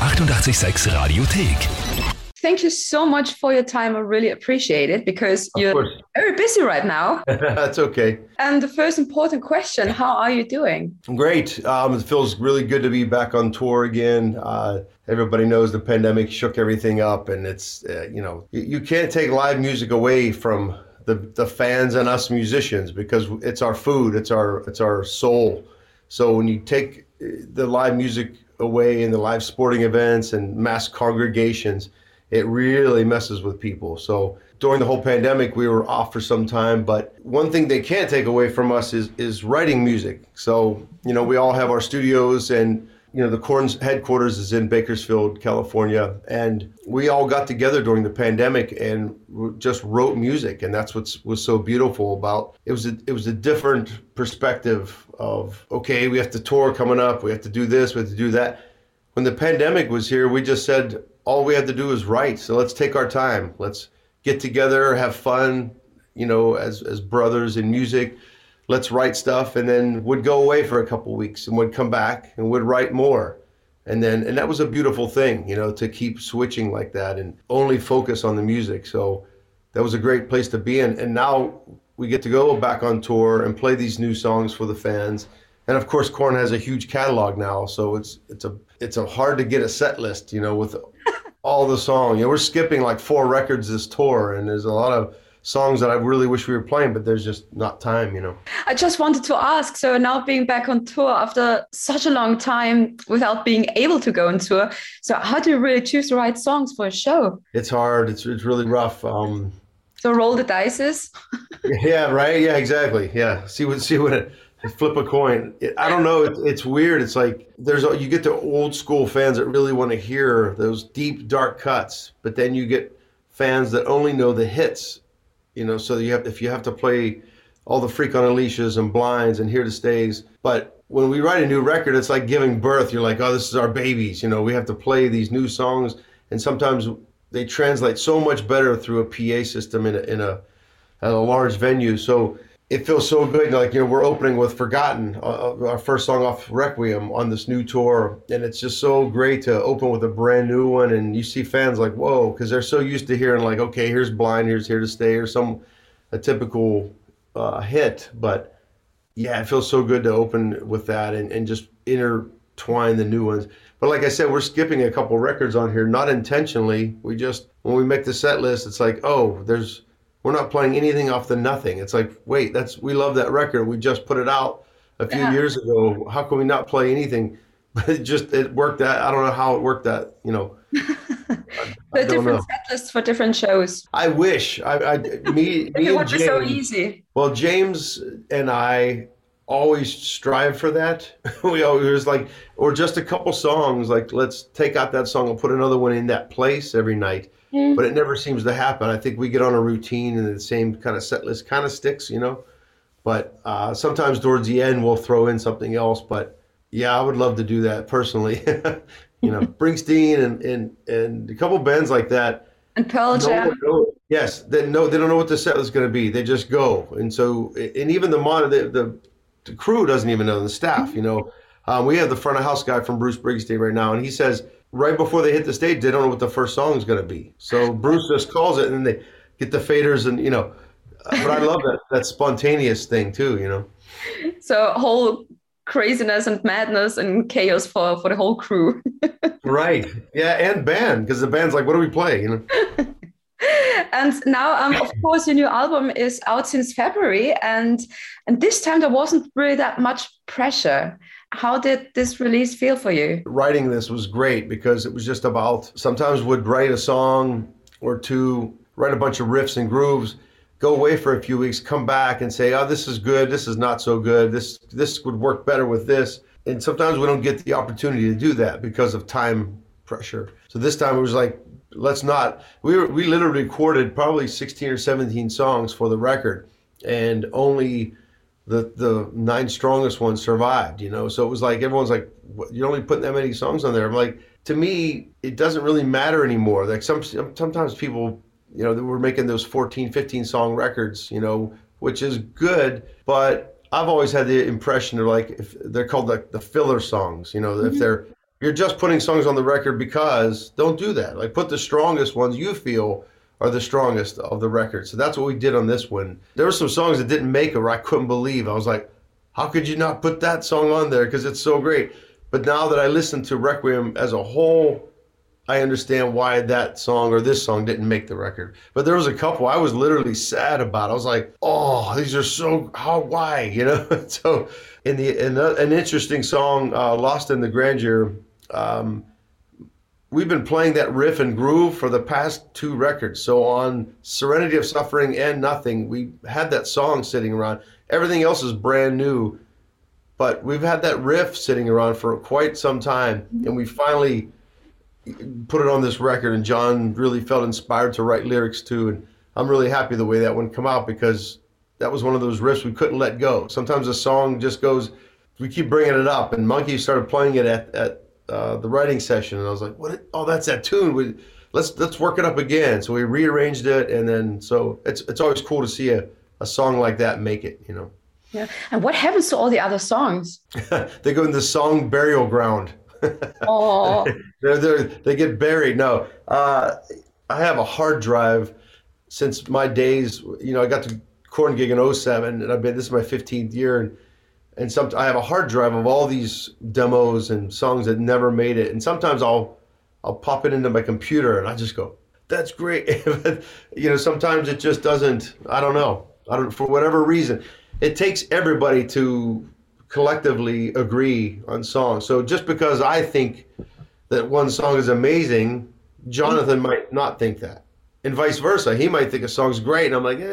886 Radiothek. Thank you so much for your time. I really appreciate it because you're very busy right now. That's okay. And the first important question, how are you doing? Great. It feels really good to be back on tour again. Everybody knows the pandemic shook everything up, and it's, you can't take live music away from the fans and us musicians because it's our food, it's our soul. So when you take the live music away in the live sporting events and mass congregations, it really messes with people. So during the whole pandemic, we were off for some time, but one thing they can't take away from us is writing music. So, we all have our studios, and, the Korn's headquarters is in Bakersfield, California. And we all got together during the pandemic and just wrote music. And that's what was so beautiful about it. It was a different perspective of, okay, we have to tour coming up. We have to do this, we have to do that. When the pandemic was here, we just said, all we have to do is write. So let's take our time. Let's get together, have fun, as brothers in music. Let's write stuff, and then would go away for a couple of weeks and would come back and would write more. And that was a beautiful thing, to keep switching like that and only focus on the music. So that was a great place to be in. And now we get to go back on tour and play these new songs for the fans. And of course, Korn has a huge catalog now, so it's a hard to get a set list, with all the songs. We're skipping like 4 records this tour, and there's a lot of songs that I really wish we were playing, but there's just not time, I just wanted to ask, so now being back on tour after such a long time without being able to go on tour, so how do you really choose the right songs for a show? It's hard. It's really rough. So roll the dices? Yeah, right. Yeah, exactly. Yeah. See what flip a coin. I don't know. It's weird. It's like you get the old school fans that really want to hear those deep, dark cuts, but then you get fans that only know the hits. So if you have to play all the Freak on a Leashes and Blinds and Here to Stays. But when we write a new record, it's like giving birth. You're like, oh, this is our babies. We have to play these new songs, and sometimes they translate so much better through a PA system in a large venue. So it feels so good. Like, we're opening with Forgotten, our first song off Requiem on this new tour. And it's just so great to open with a brand new one. And you see fans like, whoa, because they're so used to hearing like, okay, here's Blind, here's Here to Stay, or a typical hit. But yeah, it feels so good to open with that and just intertwine the new ones. But like I said, we're skipping a couple records on here, not intentionally. When we make the set list, it's like, we're not playing anything off the Nothing. It's like, wait, we love that record. We just put it out a few years ago. How can we not play anything? But it worked out. I don't know how it worked out, The different set lists for different shows. I wish. Me it would and be James, so easy. Well, James and I always strive for that. We always or just a couple songs, like let's take out that song and put another one in that place every night. But it never seems to happen. I think we get on a routine and the same kind of set list kind of sticks, But sometimes towards the end we'll throw in something else. But yeah, I would love to do that personally. Springsteen and a couple bands like that. And Pearl Jam. Yes, they don't know what the set list is going to be. They just go. And so, and even the crew doesn't even know, the staff. We have the front of house guy from Bruce Springsteen right now, and he says, right before they hit the stage, they don't know what the first song is going to be. So Bruce just calls it, and then they get the faders, and But I love that spontaneous thing too, So whole craziness and madness and chaos for the whole crew. Right. Yeah, and band, because the band's like, what do we play? And now, of course, your new album is out since February, and this time there wasn't really that much pressure. How did this release feel for you? Writing this was great because it was just about, sometimes would write a song or two, write a bunch of riffs and grooves, go away for a few weeks, come back and say, oh, this is good, this is not so good, this would work better with this. And sometimes we don't get the opportunity to do that because of time pressure. So this time it was like, let's not. We literally recorded probably 16 or 17 songs for the record, and only the 9 strongest ones survived, So it was like, everyone's like, you're only putting that many songs on there. I'm like, to me, it doesn't really matter anymore. Like sometimes people, we're making those 14, 15 song records, which is good, but I've always had the impression of, like, if they're called like the filler songs, if you're just putting songs on the record because don't do that. Like put the strongest ones you feel are the strongest of the record. So that's what we did on this one. There were some songs that didn't make it where I couldn't believe. I was like, how could you not put that song on there? Because it's so great. But now that I listen to Requiem as a whole, I understand why that song or this song didn't make the record. But there was a couple I was literally sad about. I was like, oh, these are so, why, you know? So in an interesting song, Lost in the Grandeur, we've been playing that riff and groove for the past 2 records. So on Serenity of Suffering and Nothing, we had that song sitting around. Everything else is brand new, but we've had that riff sitting around for quite some time, and we finally put it on this record, and John really felt inspired to write lyrics to, and I'm really happy the way that one come out, because that was one of those riffs we couldn't let go. Sometimes a song just goes, we keep bringing it up, and Monkey started playing it at the writing session, and I was like, "What? Oh, that's that tune. Let's work it up again." So we rearranged it, and then so it's always cool to see a song like that make it, you know. Yeah. And what happens to all the other songs? They go in the song burial ground. Oh, they get buried. No, I have a hard drive since my days. You know, I got to Korn gig in '07, and this is my 15th year, and I have a hard drive of all these demos and songs that never made it. And sometimes I'll pop it into my computer, and I just go, "That's great." But, you know, sometimes it just doesn't. I don't know. For whatever reason, it takes everybody to collectively agree on songs. So just because I think that one song is amazing, Jonathan might not think that, and vice versa. He might think a song's great, and I'm like,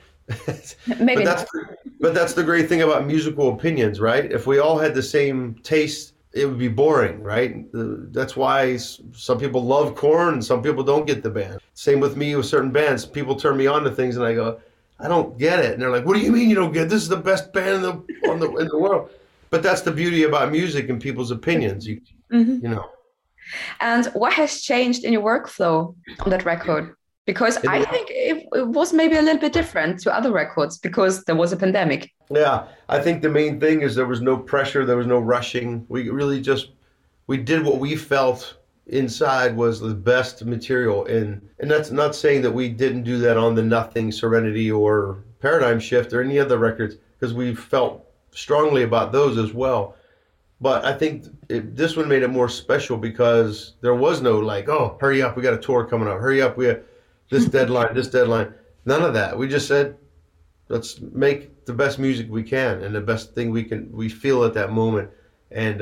maybe. But that's the great thing about musical opinions, right? If we all had the same taste, it would be boring, right? That's why some people love Korn and some people don't get the band. Same with me with certain bands. People turn me on to things, and I go, I don't get it. And they're like, what do you mean you don't get it? This is the best band in the world. But that's the beauty about music and people's opinions, you know. And what has changed in your workflow on that record? Because I think it was maybe a little bit different to other records because there was a pandemic. Yeah, I think the main thing is there was no pressure, there was no rushing. We really we did what we felt inside was the best material, and that's not saying that we didn't do that on the Nothing, Serenity, or Paradigm Shift or any other records, because we felt strongly about those as well. But I think this one made it more special because there was no like, oh, hurry up, we got a tour coming up, hurry up, we have this deadline. None of that. We just said, let's make the best music we can and the best thing we feel at that moment. And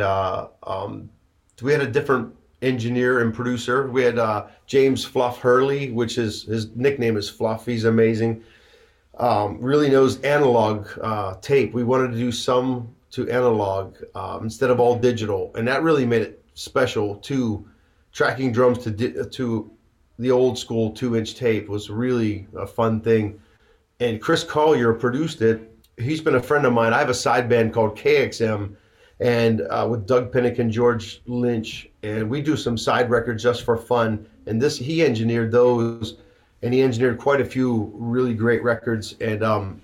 we had a different engineer and producer. We had James Fluff Hurley, which is his nickname is Fluff. He's amazing. Really knows analog tape. We wanted to do some to analog instead of all digital, and that really made it special too. Tracking drums to the old school 2-inch tape was really a fun thing. And Chris Collier produced it. He's been a friend of mine. I have a side band called KXM, and with Doug Pinnick and George Lynch, and we do some side records just for fun. And he engineered those, and he engineered quite a few really great records. And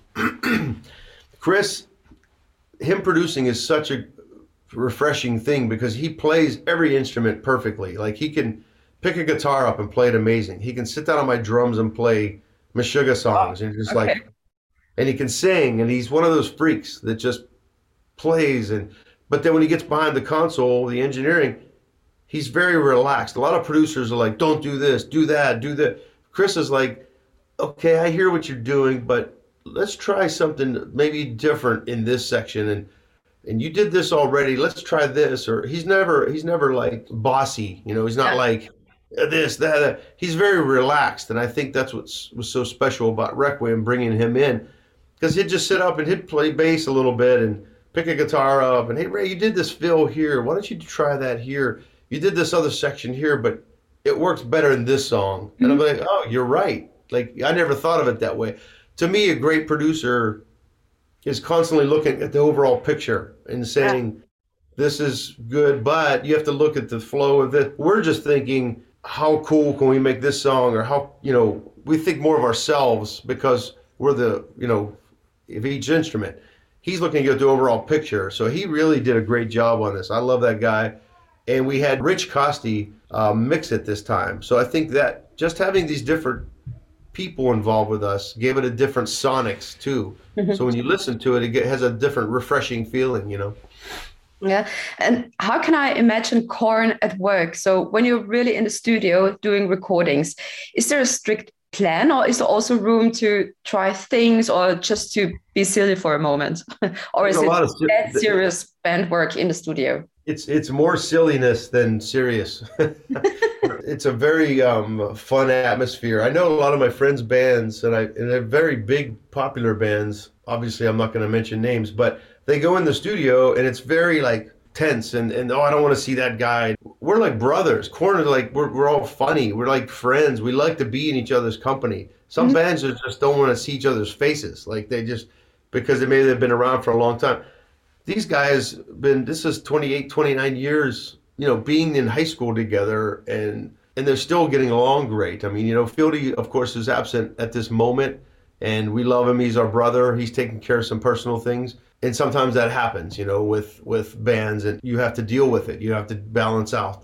Chris, him producing is such a refreshing thing because he plays every instrument perfectly. Like he can pick a guitar up and play it amazing. He can sit down on my drums and play Meshuggah songs, and just like, and he can sing, and he's one of those freaks that just plays. But then when he gets behind the console, the engineering, he's very relaxed. A lot of producers are like, don't do this, do that, do that. Chris is like, okay, I hear what you're doing, but let's try something maybe different in this section. And you did this already, let's try this. Or he's never like bossy, you know, he's not like this, that. He's very relaxed. And I think that's what was so special about Requiem, bringing him in, because he'd just sit up and he'd play bass a little bit and pick a guitar up and, hey, Ray, you did this fill here. Why don't you try that here? You did this other section here, but it works better in this song. And I'm like, oh, you're right. Like, I never thought of it that way. To me, a great producer is constantly looking at the overall picture and saying, this is good, but you have to look at the flow of it. We're just thinking, how cool can we make this song? Or how, you know, we think more of ourselves because we're the, you know, of each instrument. He's looking at the overall picture. So he really did a great job on this. I love that guy. And we had Rich Costi mix it this time. So I think that just having these different people involved with us gave it a different sonics too. So when you listen to it, has a different refreshing feeling, you know. Yeah. And how can I imagine Korn at work? So when you're really in the studio doing recordings, is there a strict plan, or is there also room to try things or just to be silly for a moment? Or is it that serious band work in the studio? It's more silliness than serious. It's a very fun atmosphere. I know a lot of my friends' bands, and they're very big, popular bands. Obviously, I'm not going to mention names, but they go in the studio and it's very like tense and oh, I don't want to see that guy. We're like brothers. Korn is like we're all funny. We're like friends. We like to be in each other's company. Some bands just don't want to see each other's faces. Like they just because maybe they've been around for a long time. These guys this is 28, 29 years, you know, being in high school together and they're still getting along great. I mean, you know, Fieldy, of course, is absent at this moment and we love him. He's our brother. He's taking care of some personal things. And sometimes that happens, you know, with bands and you have to deal with it. You have to balance out.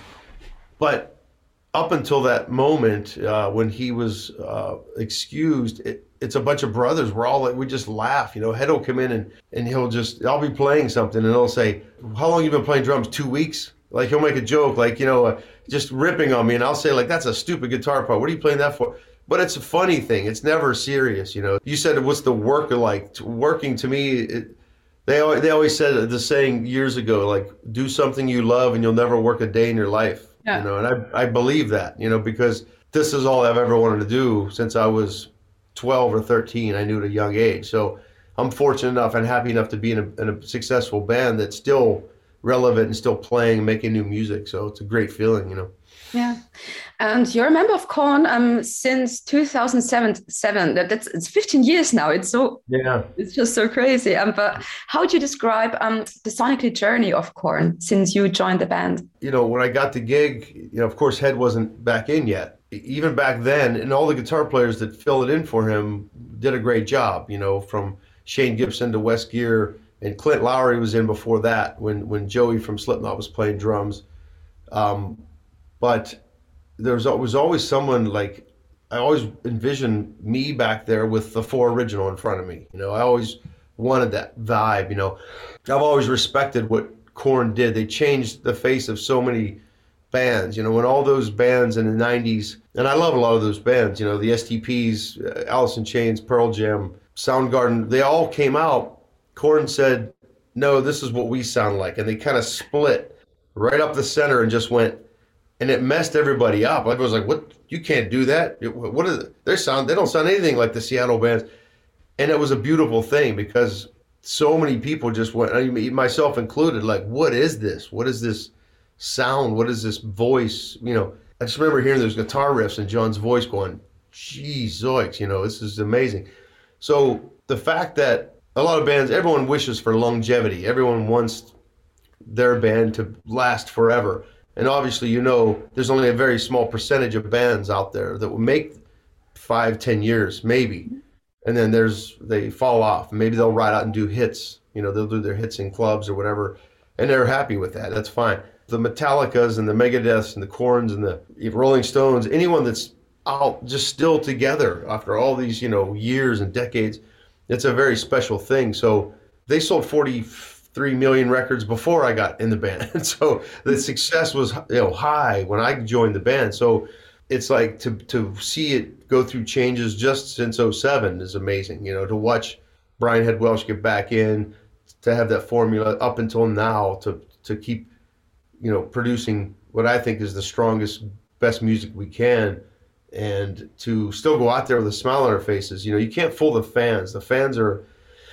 But up until that moment, when he was excused, it's a bunch of brothers. We're all like, we just laugh, you know. Head will come in and I'll be playing something and he'll say, how long you been playing drums? 2 weeks? Like he'll make a joke, like, you know, just ripping on me. And I'll say like, that's a stupid guitar part. What are you playing that for? But it's a funny thing. It's never serious, you know. You said, what's the work like? Working to me, they always said the saying years ago, like, do something you love and you'll never work a day in your life. Yeah. You know, and I believe that, you know, because this is all I've ever wanted to do since I was 12 or 13. I knew at a young age. So I'm fortunate enough and happy enough to be in a successful band that's still relevant and still playing and making new music. So it's a great feeling, you know. Yeah, and you're a member of Korn since 2007. It's 15 years now. It's just so crazy. But how would you describe the sonic journey of Korn since you joined the band? You know, when I got the gig, you know, of course, Head wasn't back in yet. Even back then, and all the guitar players that filled it in for him did a great job. You know, from Shane Gibson to Wes Geer, and Clint Lowry was in before that when Joey from Slipknot was playing drums. But there was always someone like, I always envisioned me back there with the 4 original in front of me. You know, I always wanted that vibe, you know. I've always respected what Korn did. They changed the face of so many bands, you know, when all those bands in the 90s, and I love a lot of those bands, you know, the STPs, Alice in Chains, Pearl Jam, Soundgarden, they all came out. Korn said, no, this is what we sound like. And they kind of split right up the center and just went, and it messed everybody up. I was like, what? You can't do that. What is it? They don't sound anything like the Seattle bands. And it was a beautiful thing because so many people just went, I mean, myself included, like, what is this? What is this sound? What is this voice? You know, I just remember hearing those guitar riffs and John's voice going, geez, zoiks, you know, this is amazing. So the fact that a lot of bands, everyone wishes for longevity. Everyone wants their band to last forever. And obviously, you know, there's only a very small percentage of bands out there that will make 5-10 years, maybe. And then they fall off. Maybe they'll ride out and do hits. You know, they'll do their hits in clubs or whatever. And they're happy with that. That's fine. The Metallicas and the Megadeths and the Korns and the Rolling Stones, anyone that's out just still together after all these, you know, years and decades, it's a very special thing. So they sold 43 million records before I got in the band. So the success was, you know, high when I joined the band. So it's like to see it go through changes just since 2007 is amazing. You know, to watch Brian Head Welch get back in, to have that formula up until now to keep, you know, producing what I think is the strongest, best music we can, and to still go out there with a smile on our faces. You know, you can't fool the fans. The fans are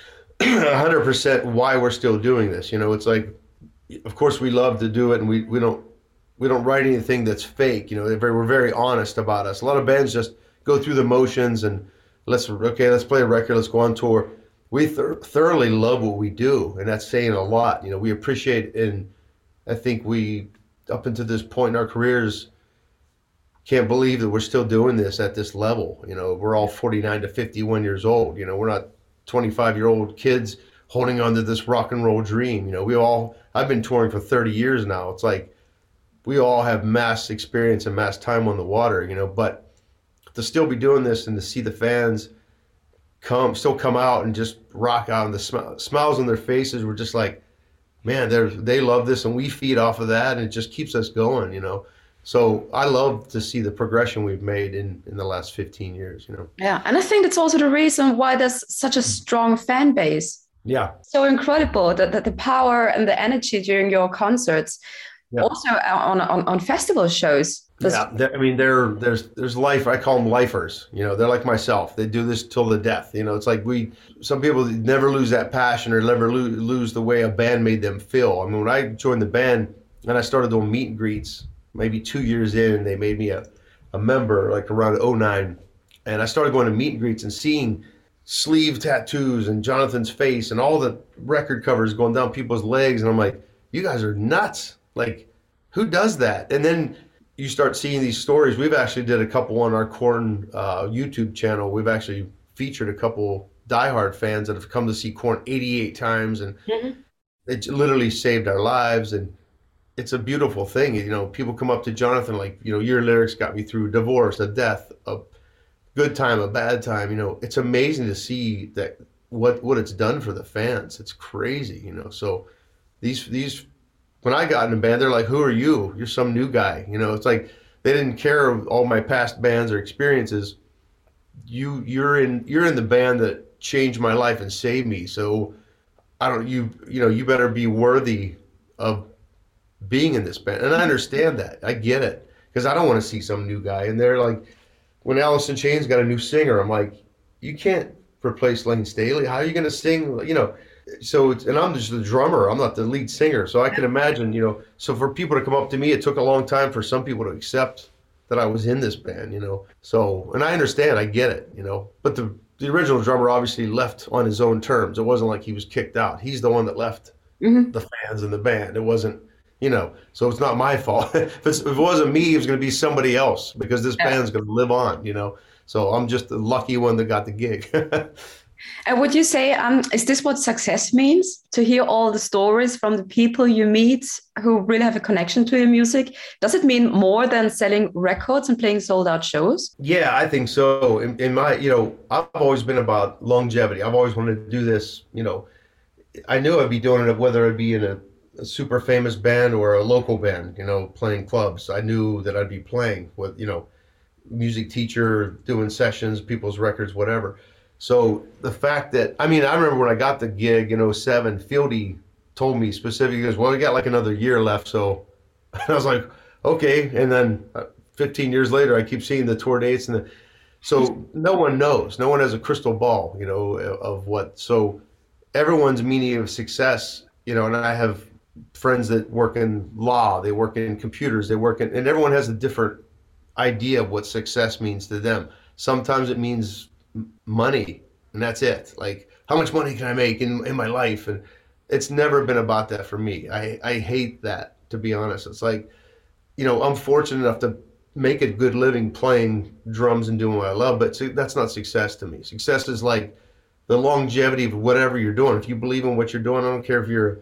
100% why we're still doing this. You know, it's like, of course we love to do it, and we don't write anything that's fake. You know, we're very honest about us. A lot of bands just go through the motions and let's play a record, let's go on tour. We thoroughly love what we do, and that's saying a lot. You know, we appreciate, and I think we, up until this point in our careers, can't believe that we're still doing this at this level. You know, we're all 49 to 51 years old. You know, we're not 25-year-old kids holding on to this rock and roll dream. I've been touring for 30 years now. It's like we all have mass experience and mass time on the water, but to still be doing this and to see the fans still come out and just rock out, and the smiles on their faces were just like, man, they love this, and we feed off of that, and it just keeps us going. So I love to see the progression we've made in the last 15 years. Yeah, and I think that's also the reason why there's such a strong fan base. Yeah, so incredible that the power and the energy during your concerts, also on festival shows. There's life. I call them lifers. They're like myself. They do this till the death. It's like some people never lose that passion or never lose the way a band made them feel. I mean, when I joined the band and I started doing meet and greets, maybe 2 years in, they made me a member like around '09, and I started going to meet and greets and seeing sleeve tattoos and Jonathan's face and all the record covers going down people's legs, and I'm like, you guys are nuts. Like, who does that? And then you start seeing these stories. We've actually did a couple on our Korn YouTube channel. We've actually featured a couple diehard fans that have come to see Korn 88 times, and it literally saved our lives. And it's a beautiful thing. People come up to Jonathan like, your lyrics got me through divorce, a death, a good time, a bad time. It's amazing to see that what it's done for the fans. It's crazy. So these when I got in a band, they're like, who are you? You're some new guy. It's like they didn't care of all my past bands or experiences. You're in the band that changed my life and saved me. So you better be worthy of being in this band. And I understand that. I get it, because I don't want to see some new guy. And they're like, when Alice in Chains got a new singer, I'm like, you can't replace Lane Staley. How are you going to sing? So and I'm just the drummer. I'm not the lead singer. So I can imagine, so for people to come up to me, it took a long time for some people to accept that I was in this band, So, and I understand, I get it, But the original drummer obviously left on his own terms. It wasn't like he was kicked out. He's the one that left the fans in the band. It wasn't, so it's not my fault. If it wasn't me, it was going to be somebody else, because this band's going to live on, So I'm just the lucky one that got the gig. And would you say, is this what success means? To hear all the stories from the people you meet who really have a connection to your music? Does it mean more than selling records and playing sold out shows? Yeah, I think so. In my, I've always been about longevity. I've always wanted to do this, I knew I'd be doing it, whether it be in a super famous band or a local band, playing clubs. I knew that I'd be playing with, music teacher, doing sessions, people's records, whatever. So the fact that, I remember when I got the gig in '07, Fieldy told me specifically, he goes, well, we got like another year left. So I was like, okay. And then 15 years later, I keep seeing the tour dates. So no one knows. No one has a crystal ball, of what. So everyone's meaning of success, and I have friends that work in law, they work in computers, and everyone has a different idea of what success means to them. Sometimes it means money, and that's it. Like, how much money can I make in my life? And it's never been about that for me. I hate that, to be honest. It's like, I'm fortunate enough to make a good living playing drums and doing what I love, but that's not success to me. Success is like the longevity of whatever you're doing. If you believe in what you're doing, I don't care if you're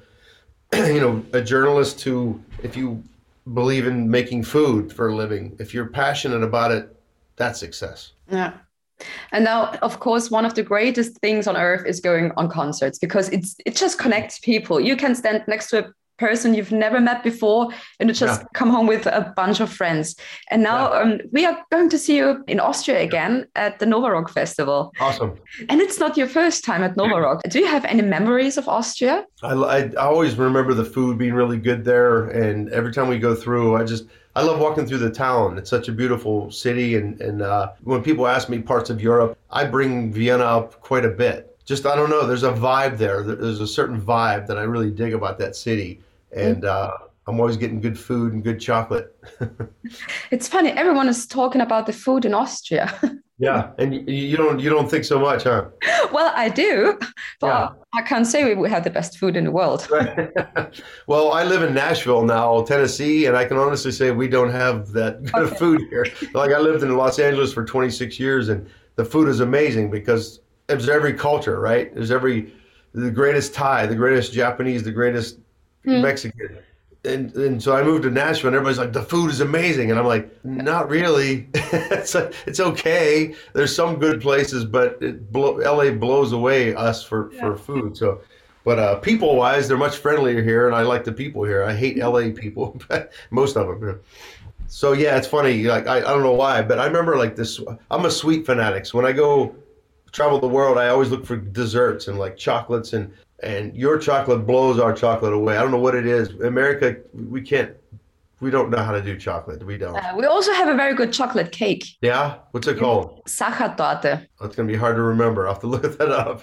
a journalist, to if you believe in making food for a living, if you're passionate about it, that's success. Yeah. And now, of course, one of the greatest things on earth is going on concerts, because it just connects people. You can stand next to a person you've never met before, and you just come home with a bunch of friends. And now we are going to see you in Austria again at the Nova Rock Festival. Awesome. And it's not your first time at Nova Rock. Do you have any memories of Austria? I always remember the food being really good there. And every time we go through, I love walking through the town. It's such a beautiful city. And when people ask me parts of Europe, I bring Vienna up quite a bit. Just, I don't know, there's a vibe there. There's a certain vibe that I really dig about that city. And I'm always getting good food and good chocolate. It's funny, everyone is talking about the food in Austria. Yeah, and you don't think so much, huh? Well, I do, but I can't say we have the best food in the world. Well, I live in Nashville now, Tennessee, and I can honestly say we don't have that good of food here. Like, I lived in Los Angeles for 26 years, and the food is amazing because there's every culture, right? There's the greatest Thai, the greatest Japanese, the greatest Mexican. And so I moved to Nashville, and everybody's like, the food is amazing. And I'm like, not really. It's okay. There's some good places, but LA blows away us for food. So, but people-wise, they're much friendlier here, and I like the people here. I hate LA people, most of them. So yeah, it's funny. Like I don't know why, but I remember like this. I'm a sweet fanatic. So when I go travel the world, I always look for desserts and like chocolates, and your chocolate blows our chocolate away. I don't know what it is. America, we don't know how to do chocolate. We don't. We also have a very good chocolate cake. Yeah? What's it called? Sachertorte. Oh, it's going to be hard to remember. I'll have to look that up.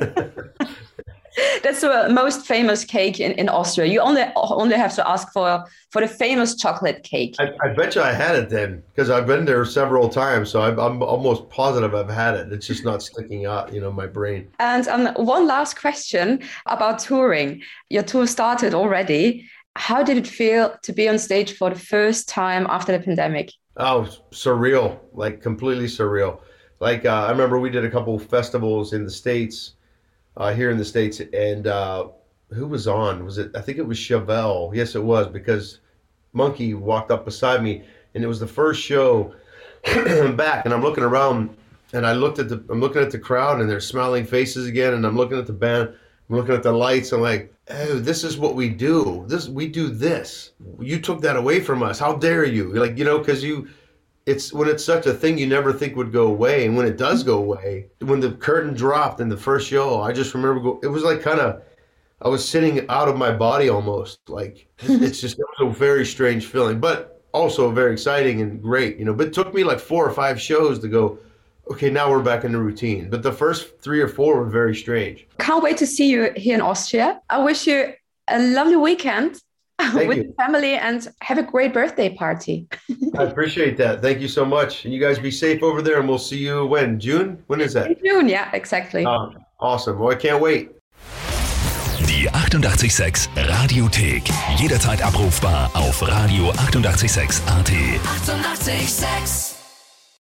That's the most famous cake in Austria. You only have to ask for the famous chocolate cake. I bet you I had it then, because I've been there several times, so I'm almost positive I've had it. It's just not sticking out, my brain. And one last question about touring. Your tour started already. How did it feel to be on stage for the first time after the pandemic? Oh, surreal, like completely surreal. Like I remember we did a couple of festivals in the States, here in the States, and who was on? I think it was Chevelle. Yes, it was, because Monkey walked up beside me, and it was the first show back, and I'm looking around, and I'm looking at the crowd, and they're smiling faces again, and I'm looking at the band, I'm looking at the lights, I'm like, oh, this is what we do. We do this. You took that away from us. How dare you? Like, because it's when it's such a thing you never think would go away, and when it does go away, when the curtain dropped in the first show, I just remember it was like I was sitting out of my body almost. Like it was a very strange feeling, but also very exciting and great, But it took me like 4 or 5 shows to go, okay, now we're back in the routine. But the first 3 or 4 were very strange. Can't wait to see you here in Austria. I wish you a lovely weekend. With your family, and have a great birthday party. I appreciate that. Thank you so much. And you guys be safe over there, and we'll see you when? June? When is that? In June, yeah, exactly. Awesome. Well, I can't wait. Die 88,6 Radiothek. Jederzeit abrufbar auf radio886.at. 88,6.